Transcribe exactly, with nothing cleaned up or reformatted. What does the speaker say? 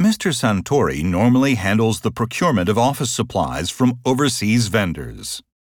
Mister Santori normally handles the procurement of office supplies from overseas vendors.